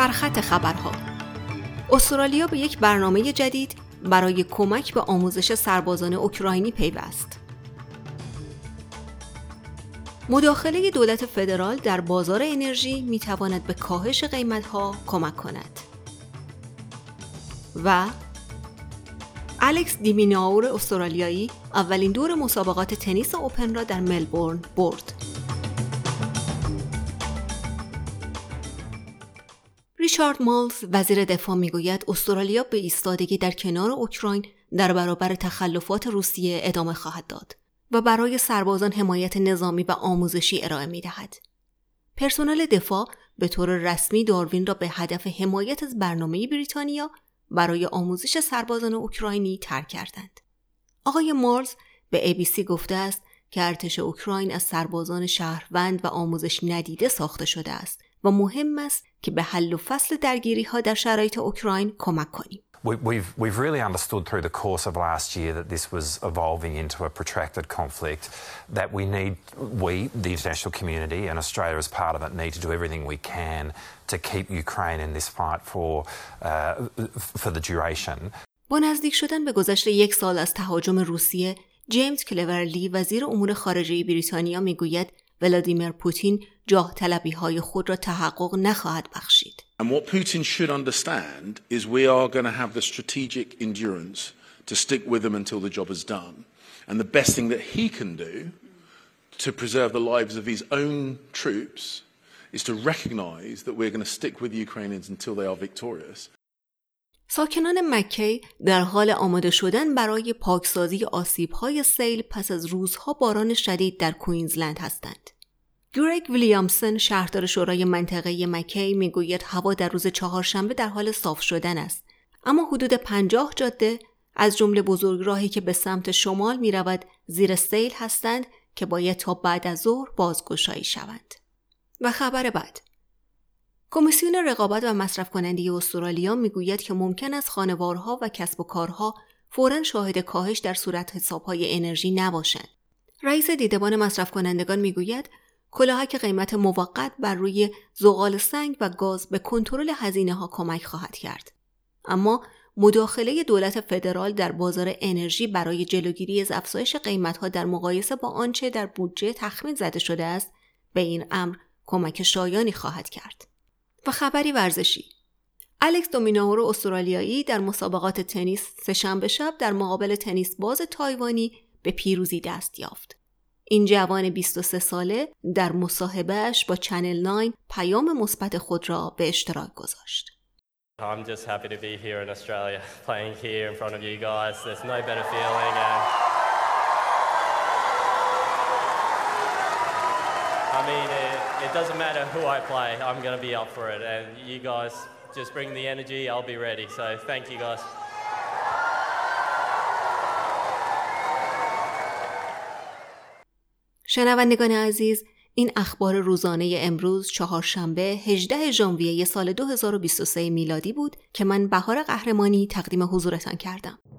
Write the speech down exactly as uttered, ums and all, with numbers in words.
سرخط خبرها. استرالیا به یک برنامه جدید برای کمک به آموزش سربازان اوکراینی پیوست. مداخله دولت فدرال در بازار انرژی میتواند به کاهش قیمت‌ها کمک کند. و الکس دی میناور استرالیایی اولین دور مسابقات تنیس اوپن را در ملبورن برد. ریچارد مالز وزیر دفاع میگوید استرالیا به ایستادگی در کنار اوکراین در برابر تخلفات روسیه ادامه خواهد داد و برای سربازان حمایت نظامی و آموزشی ارائه می‌دهد. پرسنل دفاع به طور رسمی داروین را به هدف حمایت از برنامه بریتانیا برای آموزش سربازان اوکراینی ترک کردند. آقای مالز به ای بی سی گفته است که ارتش اوکراین از سربازان شهروند و آموزش ندیده ساخته شده است و مهم است که به حل و فصل درگیری‌ها در شرایط اوکراین کمک کنیم. We've, we've really understood through the course of last year that this was evolving into a protracted conflict, that we need, we, the international community and Australia as part of it, need to do everything we can to keep Ukraine in this fight for, uh, for the duration. با نزدیک شدن به گذشت یک سال از تهاجم روسیه، جیمز کلورلی وزیر امور خارجه بریتانیا میگوید ولادیمیر پوتین جاه طلبی های خود را تحقق نخواهد بخشید. And what Putin should understand is we are going to have the strategic endurance to stick with them until the job is done. And the best thing that he can do to preserve the lives of his own troops is to recognize that we're going to stick with the Ukrainians until they are victorious. ساکنان مکی در حال آماده شدن برای پاکسازی آسیب‌های سیل پس از روزها باران شدید در کوینزلند هستند. گرگ ویلیامسون شهردار شورای منطقه مکی میگوید هوا در روز چهارشنبه در حال صاف شدن است، اما حدود پنجاه جاده از جمله بزرگراهی که به سمت شمال میرود زیر سیل هستند که باید تا بعد از ظهر بازگشایی شوند. و خبر بعد، کمیسیون رقابت و مصرف کننده استرالیا میگوید که ممکن است خانوارها و کسب و کارها فوراً شاهد کاهش در صورت حسابهای انرژی نباشند. رئیس دیدبان مصرف کنندگان میگوید کلاهک قیمت موقت بر روی زغال سنگ و گاز به کنترل هزینه‌ها کمک خواهد کرد. اما مداخله دولت فدرال در بازار انرژی برای جلوگیری از افزایش قیمت‌ها در مقایسه با آنچه در بودجه تخمین زده شده است، به این امر کمک شایانی خواهد کرد. و خبری ورزشی، الکس دی میناور استرالیایی در مسابقات تنیس سه‌شنبه شب در مقابل تنیس باز تایوانی به پیروزی دست یافت. این جوان بیست و سه ساله در مصاحبهش با چنل نه پیام مثبت خود را به اشتراک گذاشت. I'm just happy to be here in Australia, playing here in front of you guys. There's no better feeling. And I mean, it, it doesn't matter who I play. I'm going to be up for it. And you guys just bring the energy. I'll be ready. So thank you guys. شنوندگان عزیز، این اخبار روزانه امروز چهارشنبه هجدهم ژانویه سال دو هزار و بیست و سه میلادی بود که من بهار قهرمانی تقدیم حضورتان کردم.